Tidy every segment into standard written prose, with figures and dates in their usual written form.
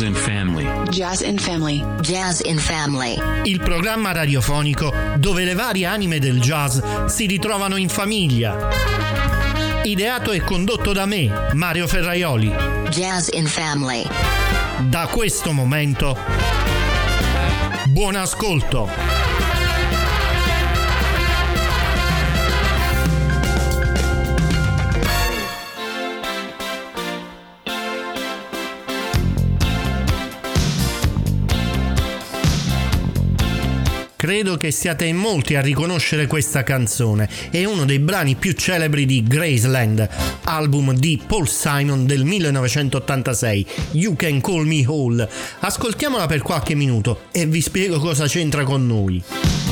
Jazz and Family. Jazz and Family. Jazz in Family. Il programma radiofonico dove le varie anime del jazz si ritrovano in famiglia. Ideato e condotto da me, Mario Ferraioli. Jazz in Family. Da questo momento, buon ascolto. Credo che siate in molti a riconoscere questa canzone. È uno dei brani più celebri di Graceland, album di Paul Simon del 1986, You Can Call Me Hall. Ascoltiamola per qualche minuto e vi spiego cosa c'entra con noi.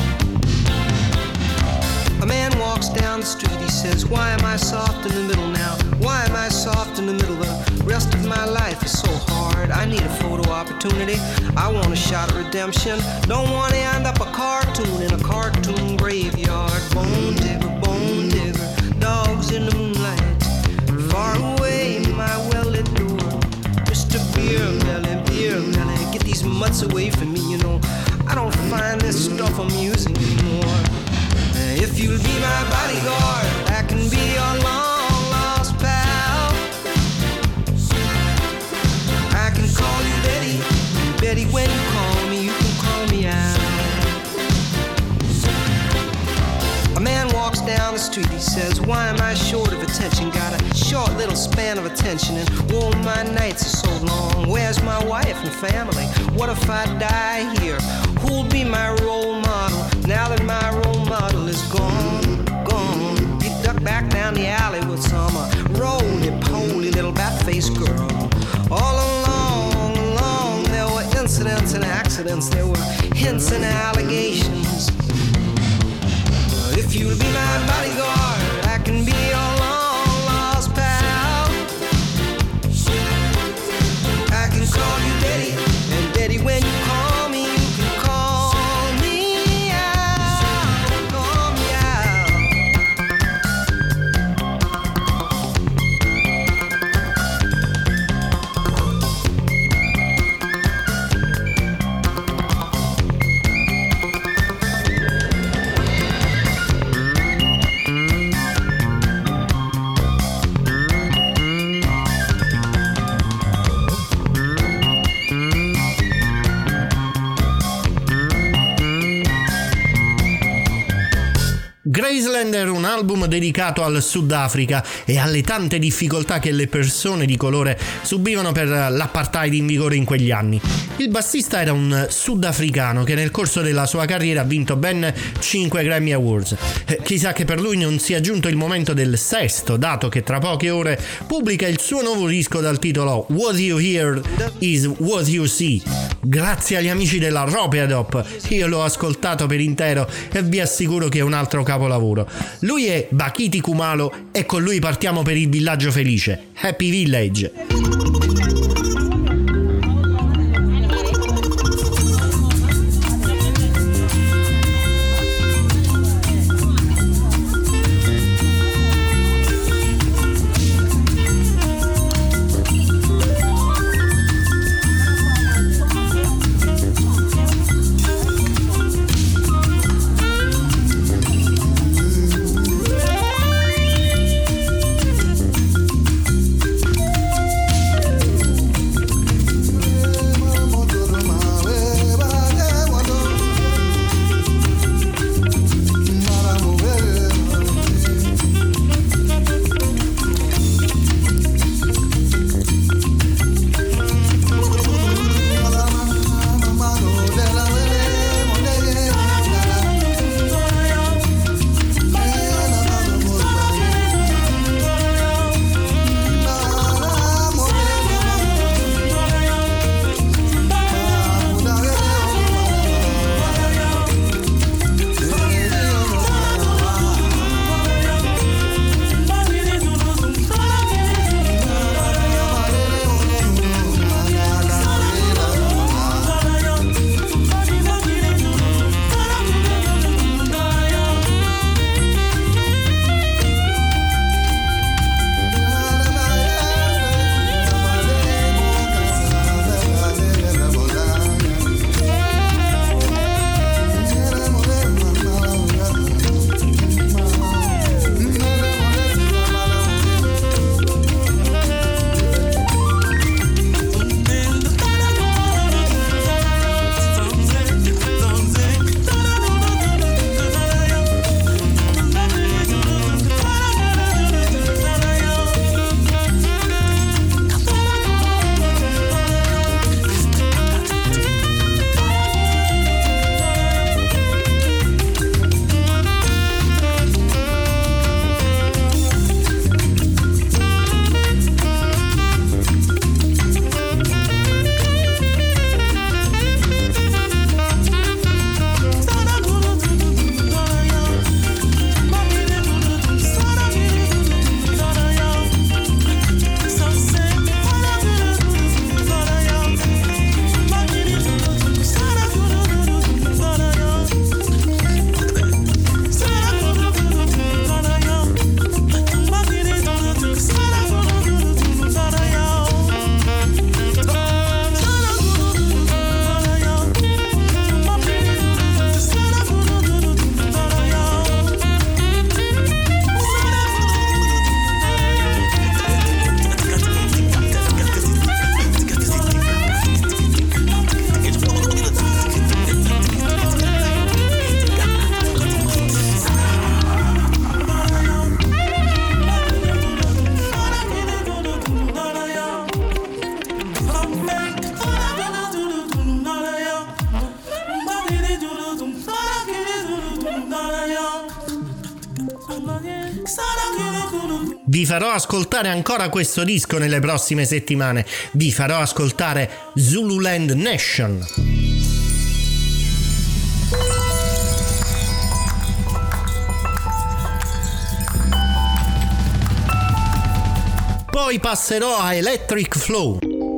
A man walks down the street, he says, why am I soft in the middle now? Why am I soft in the middle? The rest of my life is so hard. I need a photo opportunity. I want a shot at redemption. Don't want to end up a cartoon in a cartoon graveyard. Bone digger, dogs in the moonlight. Far away, my well-lit door. Mr. Beer Melly, get these mutts away from me, you know. I don't find this stuff amusing anymore. If you'll be my bodyguard, I can be your long lost pal. I can call you Betty, and Betty, when you call me, you can call me out. A man walks down the street, he says, why am I short of attention? Got a short little span of attention, and oh, my nights are so long. Where's my wife and family? What if I die here? Who'll be my role model now that my role model is gone? You duck back down the alley with some roly-poly little bat-faced girl. All along, there were incidents and accidents. There were hints and allegations. If you'll be my bodyguard, I can be your long-lost pal. I can call you Daddy, and Daddy, when you call me, you can call me out, call me out. Graceland era un album dedicato al Sudafrica e alle tante difficoltà che le persone di colore subivano per l'apartheid in vigore in quegli anni. Il bassista era un sudafricano che nel corso della sua carriera ha vinto ben 5 Grammy Awards. Chissà che per lui non sia giunto il momento del sesto, dato che tra poche ore pubblica il suo nuovo disco dal titolo What You Hear Is What You See. Grazie agli amici della Ropeadop, io l'ho ascoltato per intero e vi assicuro che è un altro capolavoro. Lui è Bakiti Kumalo e con lui partiamo per il villaggio felice, Happy Village. Vi farò ascoltare ancora questo disco nelle prossime settimane. Vi farò ascoltare Zululand Nation. Poi passerò a Electric Flow.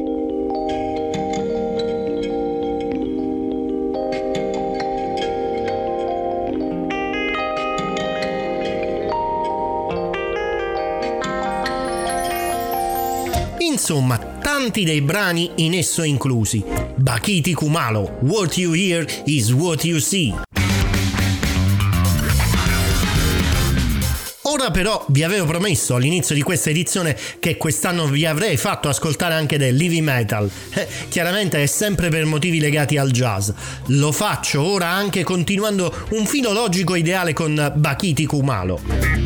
Insomma, tanti dei brani in esso inclusi. Bakiti Kumalo, What You Hear is What You See. Ora però vi avevo promesso all'inizio di questa edizione che quest'anno vi avrei fatto ascoltare anche del heavy metal. Chiaramente è sempre per motivi legati al jazz. Lo faccio ora anche continuando un filo logico ideale con Bakiti Kumalo.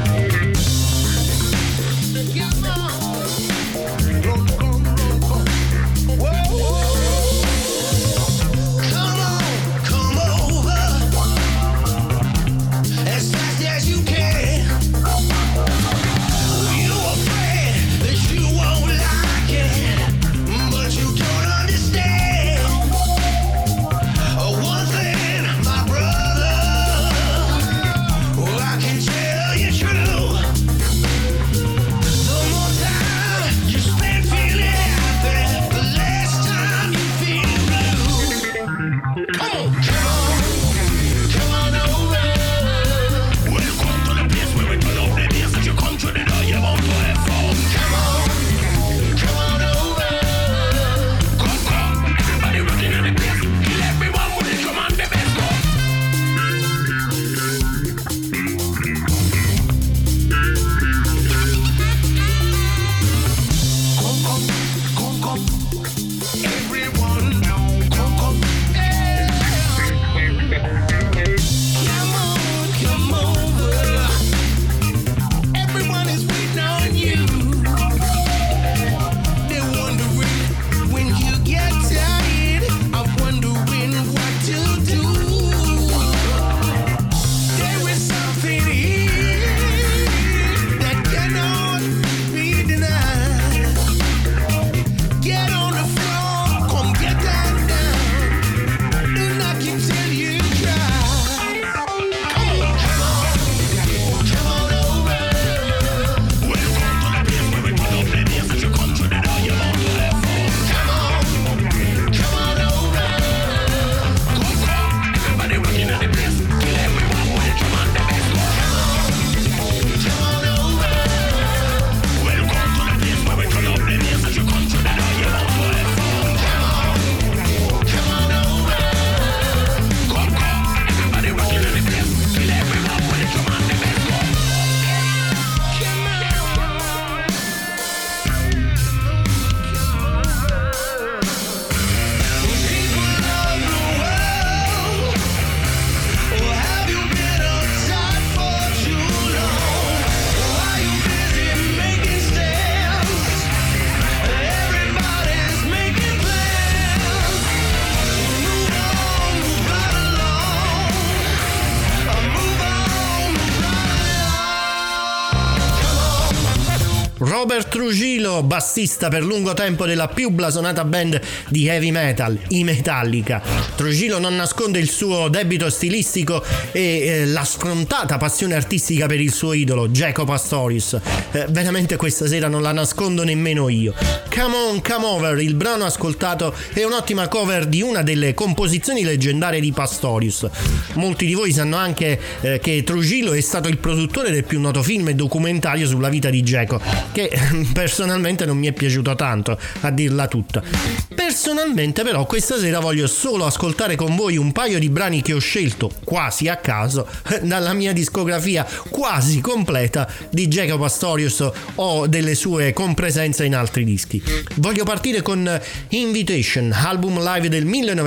Robert Trujillo, bassista per lungo tempo della più blasonata band di heavy metal, i Metallica. Trujillo non nasconde il suo debito stilistico e la sfrontata passione artistica per il suo idolo, Jaco Pastorius. Veramente questa sera non la nascondo nemmeno io. Come On, Come Over, il brano ascoltato è un'ottima cover di una delle composizioni leggendarie di Pastorius. Molti di voi sanno anche che Trujillo è stato il produttore del più noto film e documentario sulla vita di Jaco, che personalmente non mi è piaciuto tanto, a dirla tutta. Personalmente però questa sera voglio solo ascoltare con voi un paio di brani che ho scelto quasi a caso dalla mia discografia quasi completa di Jaco Pastorius o delle sue compresenze in altri dischi. Voglio partire con Invitation, album live del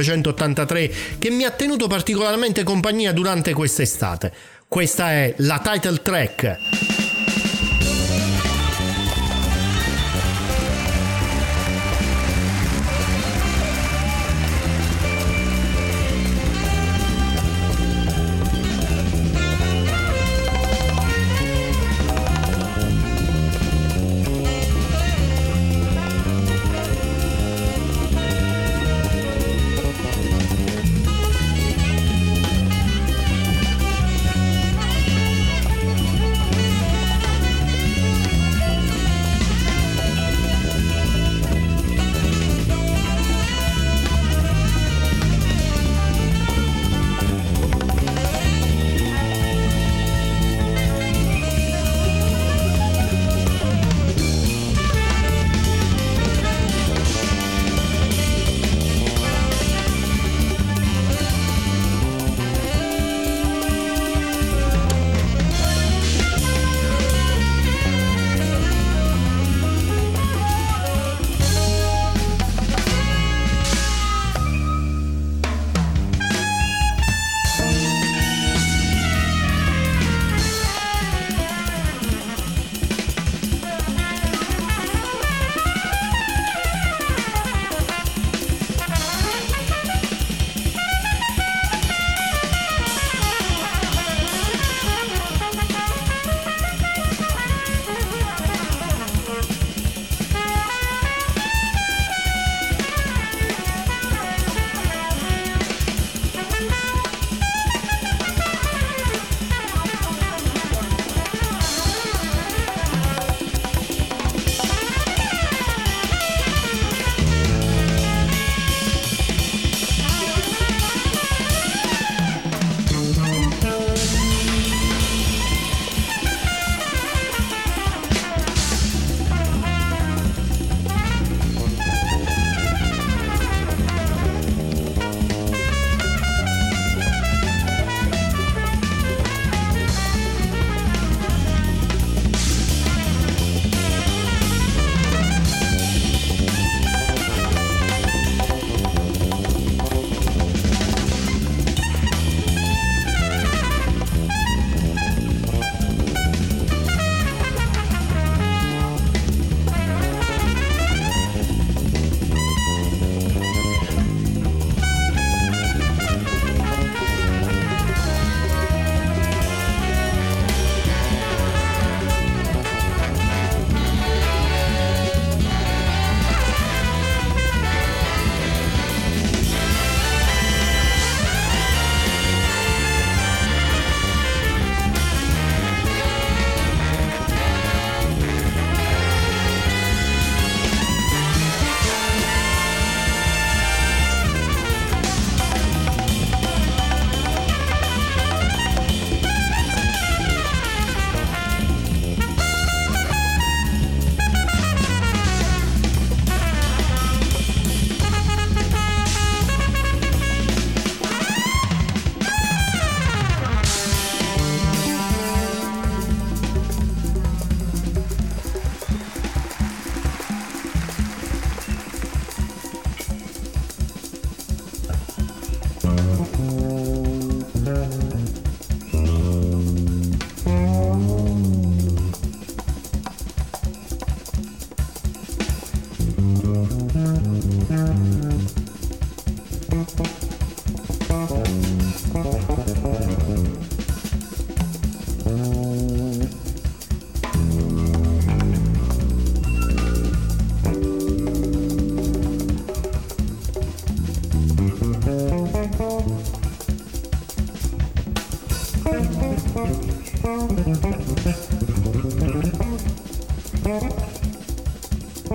1983 che mi ha tenuto particolarmente compagnia durante quest'estate. Questa è la title track.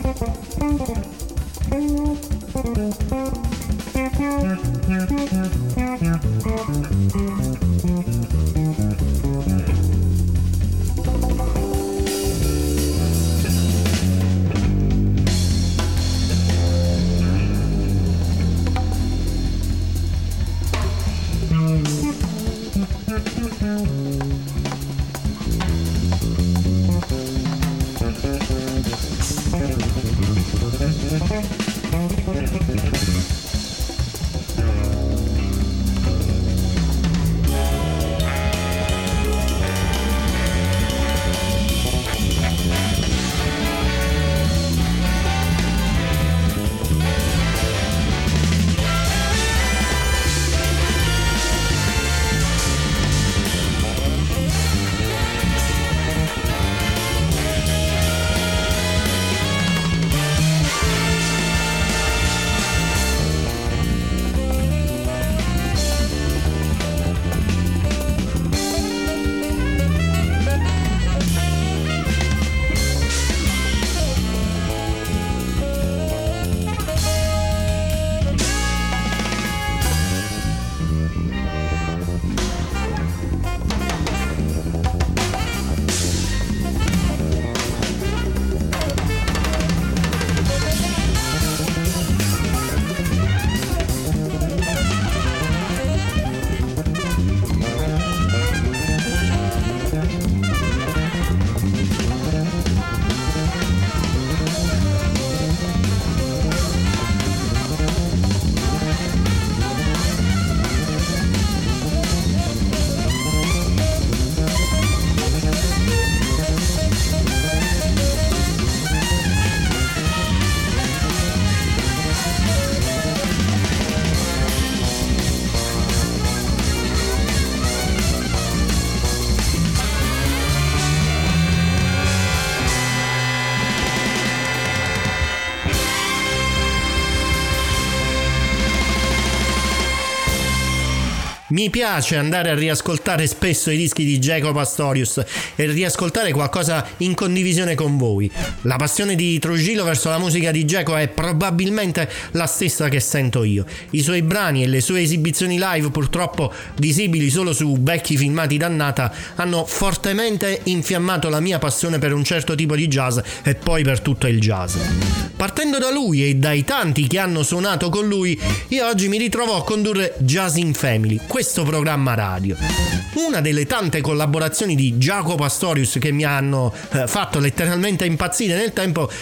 Mi piace andare a riascoltare spesso i dischi di Jaco Pastorius e riascoltare qualcosa in condivisione con voi. La passione di Trujillo verso la musica di Jaco è probabilmente la stessa che sento io. I suoi brani e le sue esibizioni live, purtroppo visibili solo su vecchi filmati dannata, hanno fortemente infiammato la mia passione per un certo tipo di jazz e poi per tutto il jazz. Partendo da lui e dai tanti che hanno suonato con lui, io oggi mi ritrovo a condurre Jazz in Family, questo programma radio. Una delle tante collaborazioni di Jaco Pastorius che mi hanno fatto letteralmente impazzire nel tempo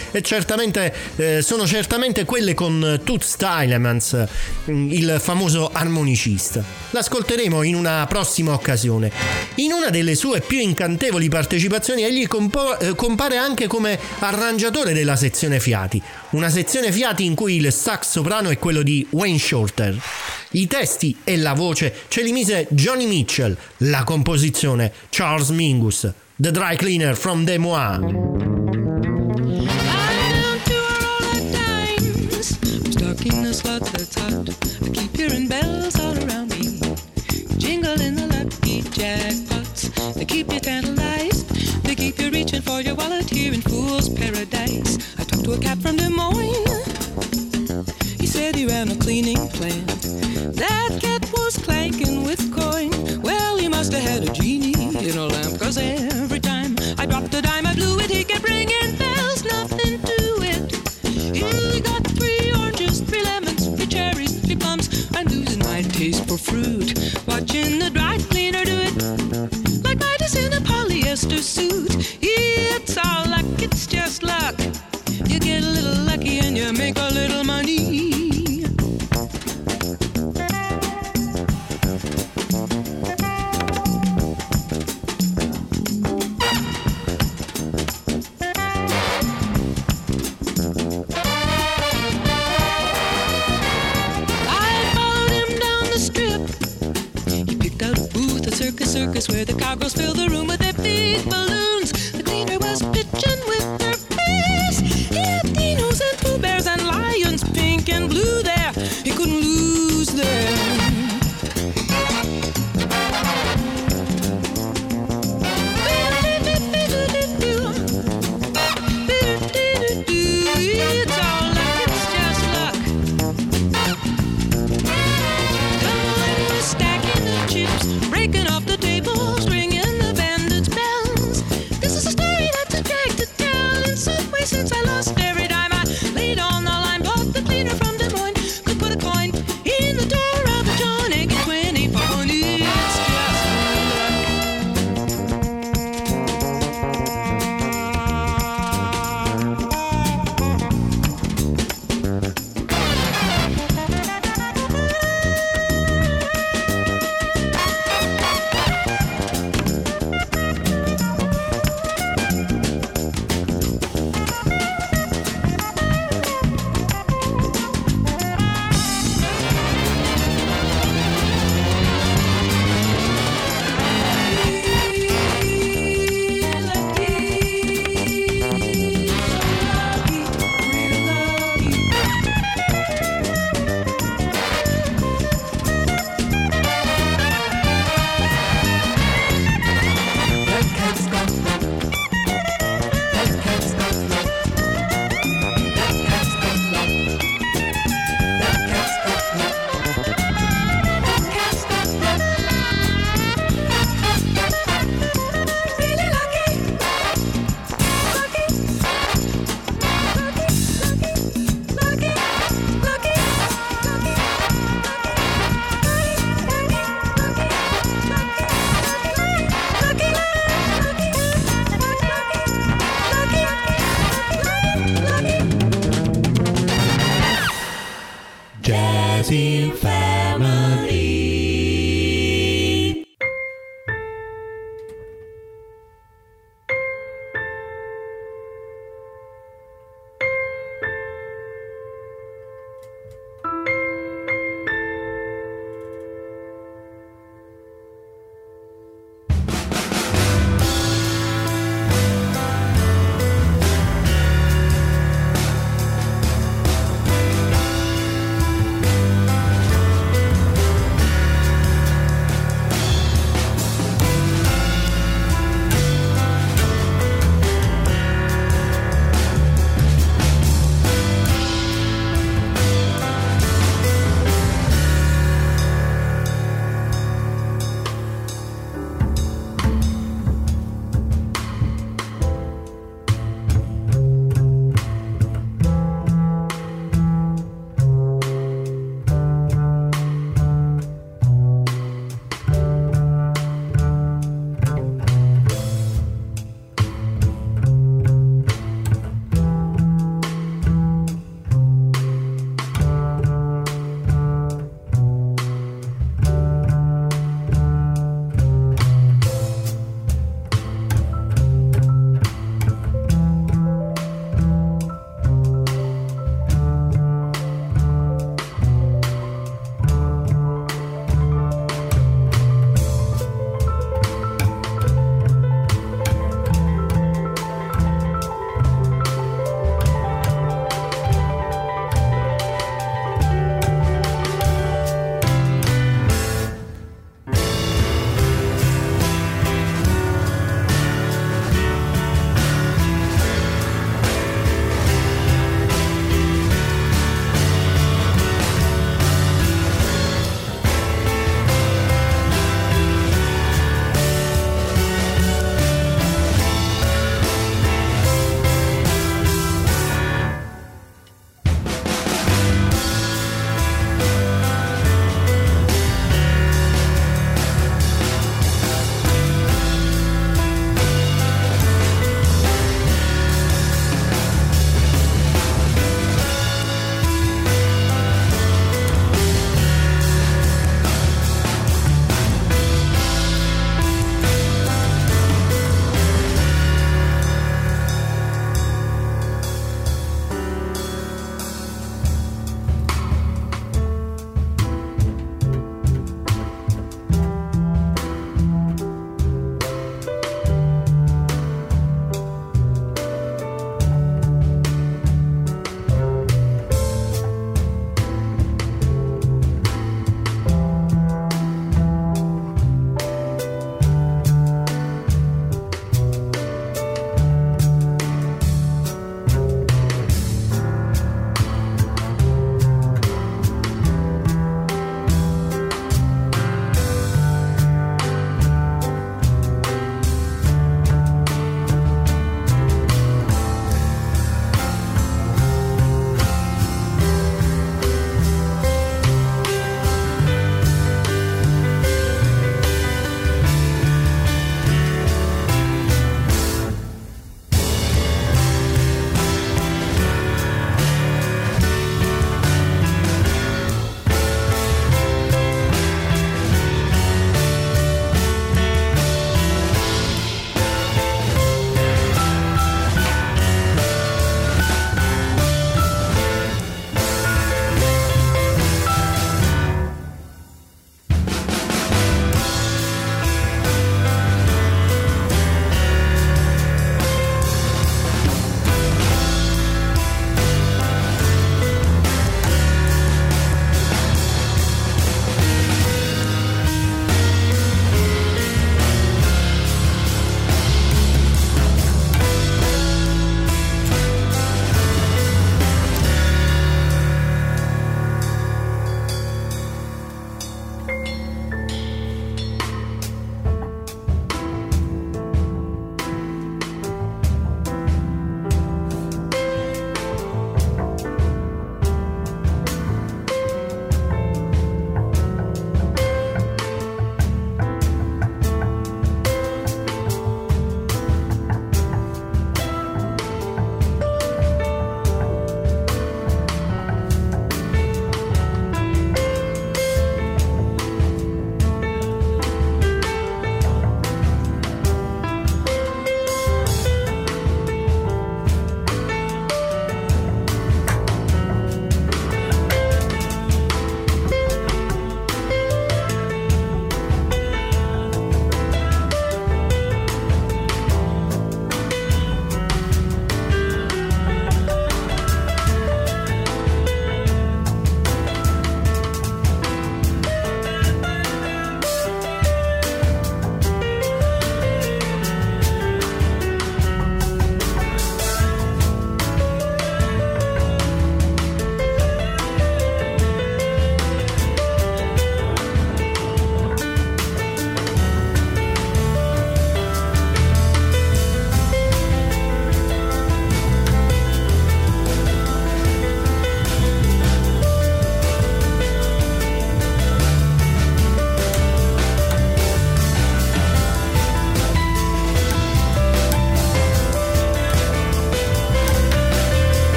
sono certamente quelle con Toots Thielemans, il famoso armonicista. L'ascolteremo in una prossima occasione. In una delle sue più incantevoli partecipazioni egli compare anche come arrangiatore della sezione fiati, una sezione fiati in cui il sax soprano è quello di Wayne Shorter. I testi e la voce ce li mise Johnny Mitchell, la composizione Charles Mingus, The Dry Cleaner from Des Moines. In a slot that's hot, I keep hearing bells all around me, jingling the lucky jackpots. They keep you tantalized, they keep you reaching for your wallet here in Fool's Paradise. I talked to a cat from Des Moines, he said he ran a cleaning plant. That cat was clanking with coin, well he must have had a genie in a lamp, 'cause every time I dropped a dime I blew it, he kept ringing bells, nothing to it. He got 3 oranges, 3 lemons, 3 cherries, 3 plums. I'm losing my taste for fruit, watching the dry cleaner do it, like Midas in a polyester suit. It's all luck, it's just luck. You get a little lucky and you make a little money. Circus where the cowgirls fill the room with their big balloons. The cleaner was pitching with her face. He had dinos and Pooh Bears and lions, pink and blue there. He couldn't lose them. Jazz in Family.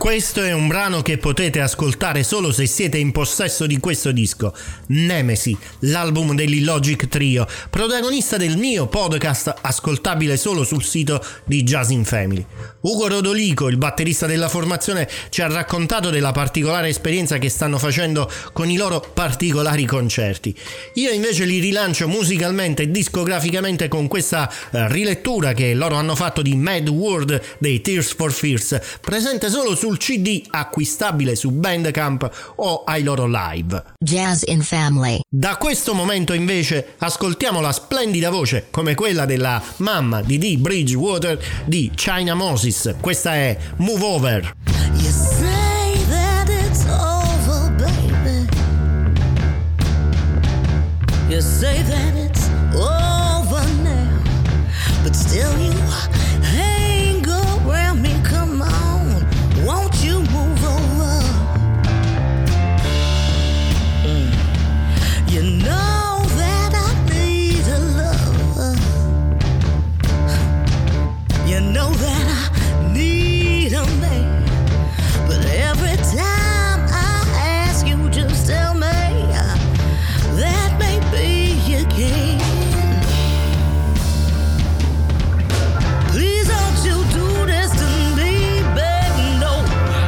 Questo è un brano che potete ascoltare solo se siete in possesso di questo disco, Nemesi, l'album dell'Illogic Trio, protagonista del mio podcast ascoltabile solo sul sito di Jazz in Family. Ugo Rodolico, il batterista della formazione, ci ha raccontato della particolare esperienza che stanno facendo con i loro particolari concerti. Io invece li rilancio musicalmente e discograficamente con questa rilettura che loro hanno fatto di Mad World dei Tears for Fears, presente solo sul CD, acquistabile su Bandcamp o ai loro live. Jazz in Family. Da questo momento invece ascoltiamo la splendida voce come quella della mamma di Dee Bridgewater di China Moses. Questa è Move Over. You say that it's over, baby. You say that it's over now, but still you hang around me. Come on, won't you move over? You know that I need a lover. You know that I need a man. But every time I ask you, just tell me that maybe you can. Please don't you do this to me, baby, no.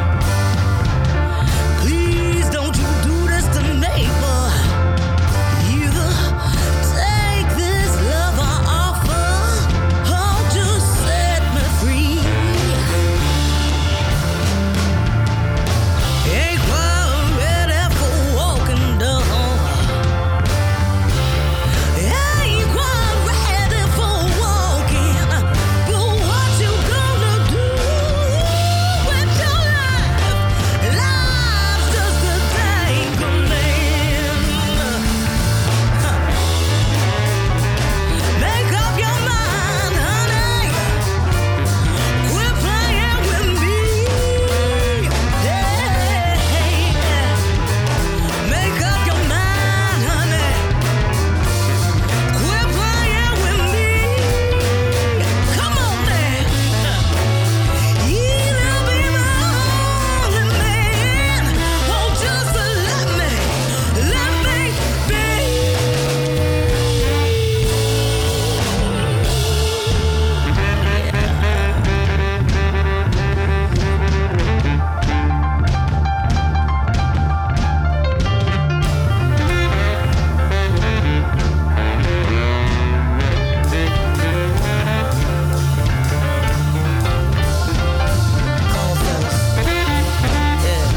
Please don't you do this to me, but either take this love I offer, or just set me free. Ain't quite ready for walking down. Ain't quite ready for walking. But what you gonna do with your life? Life's just a dangling. Make up your mind, honey. Quit playing with me. Yeah. Make up your mind, honey. Quit playing with me. Come on, man. Either be my only man, or just let me be. Come on, fellas. Yeah.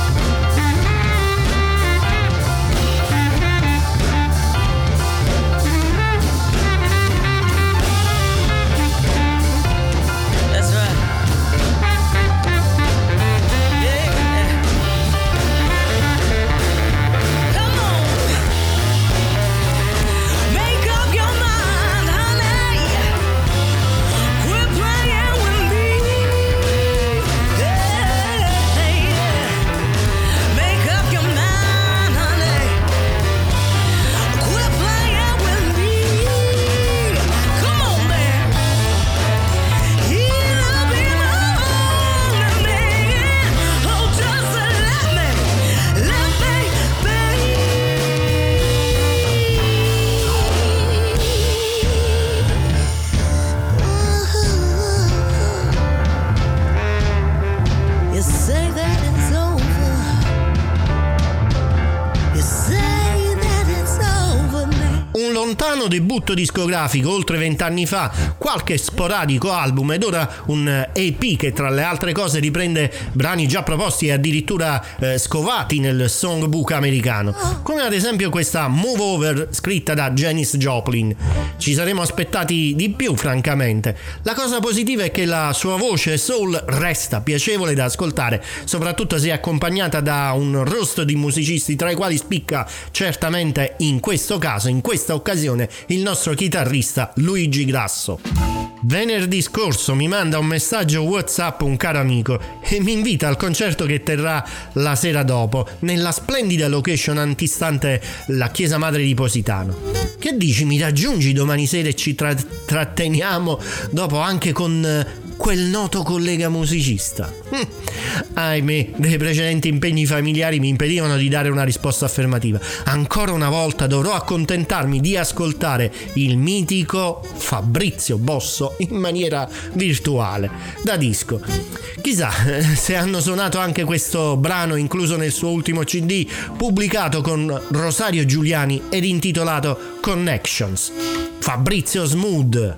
That's right. Yeah. Come on. Make up your mind, honey. Quit playing with me. Yeah. Make up your mind, honey. Quit playing with me. Come on, man. Either be my only man, or just let me be. You say that it's over. You say that it's over now. Un lontano debutto discografico oltre 20 anni fa, qualche sporadico album ed ora un EP che tra le altre cose riprende brani già proposti e addirittura scovati nel songbook americano, come ad esempio questa Move Over scritta da Janis Joplin. Ci saremmo aspettati di più, francamente. La cosa positiva è che la sua voce soul resta piacevole da ascoltare, soprattutto se accompagnata da un roster di musicisti tra i quali spicca certamente in questo caso, in questa occasione, il nostro chitarrista Luigi Grasso. Venerdì scorso mi manda un messaggio WhatsApp un caro amico e mi invita al concerto che terrà la sera dopo nella splendida location antistante la chiesa madre di Positano. Che dici, mi raggiungi domani sera e ci tratteniamo dopo anche con quel noto collega musicista. Ahimè, dei precedenti impegni familiari mi impedivano di dare una risposta affermativa. Ancora una volta dovrò accontentarmi di ascoltare il mitico Fabrizio Bosso in maniera virtuale, da disco. Chissà se hanno suonato anche questo brano incluso nel suo ultimo CD, pubblicato con Rosario Giuliani ed intitolato Connections. Fabrizio Smooth.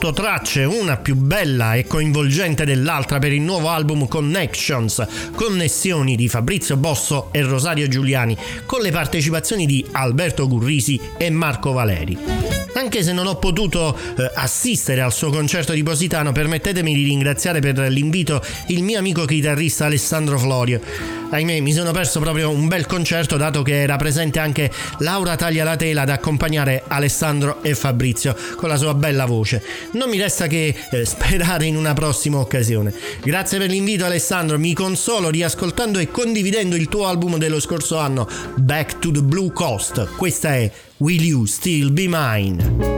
8 tracce, una più bella e coinvolgente dell'altra per il nuovo album Connections, Connessioni di Fabrizio Bosso e Rosario Giuliani, con le partecipazioni di Alberto Gurrisi e Marco Valeri. Anche se non ho potuto assistere al suo concerto di Positano, permettetemi di ringraziare per l'invito il mio amico chitarrista Alessandro Florio. Ahimè, mi sono perso proprio un bel concerto, dato che era presente anche Laura Taglialatela ad accompagnare Alessandro e Fabrizio con la sua bella voce. Non mi resta che sperare in una prossima occasione. Grazie per l'invito, Alessandro, mi consolo riascoltando e condividendo il tuo album dello scorso anno, Back to the Blue Coast. Questa è Will You Still Be Mine?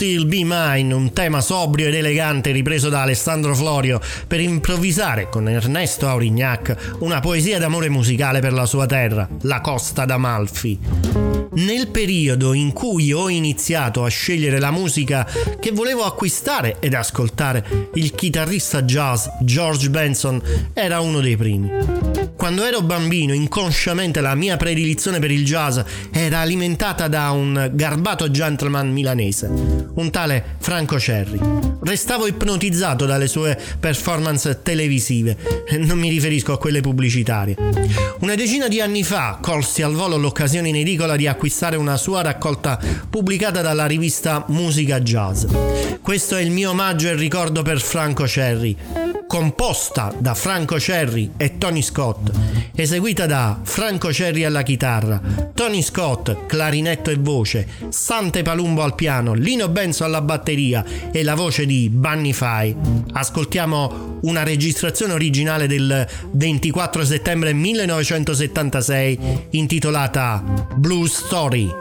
Still Be Mine, un tema sobrio ed elegante ripreso da Alessandro Florio per improvvisare con Ernesto Aurignac una poesia d'amore musicale per la sua terra, la Costa d'Amalfi. Nel periodo in cui ho iniziato a scegliere la musica che volevo acquistare ed ascoltare, il chitarrista jazz George Benson era uno dei primi. Quando ero bambino, inconsciamente la mia predilizione per il jazz era alimentata da un garbato gentleman milanese, un tale Franco Cerri. Restavo ipnotizzato dalle sue performance televisive, non mi riferisco a quelle pubblicitarie. Una decina di anni fa colsi al volo l'occasione in edicola di acquistare una sua raccolta pubblicata dalla rivista Musica Jazz. Questo è il mio omaggio e ricordo per Franco Cerri, composta da Franco Cerri e Tony Scott, eseguita da Franco Cerri alla chitarra, Tony Scott clarinetto e voce, Sante Palumbo al piano, Lino Benzo alla batteria e la voce di Bunny Fay. Ascoltiamo una registrazione originale del 24 settembre 1976 intitolata Blue Story.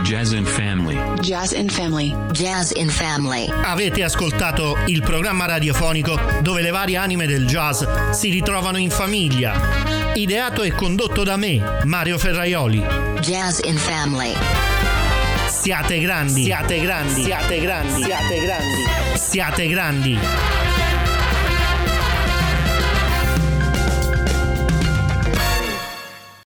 Jazz in Family. Jazz in Family. Jazz in Family. Avete ascoltato il programma radiofonico dove le varie anime del jazz si ritrovano in famiglia. Ideato e condotto da me, Mario Ferraioli. Jazz in Family. Siate grandi, siate grandi, siate grandi, siate grandi, siate grandi.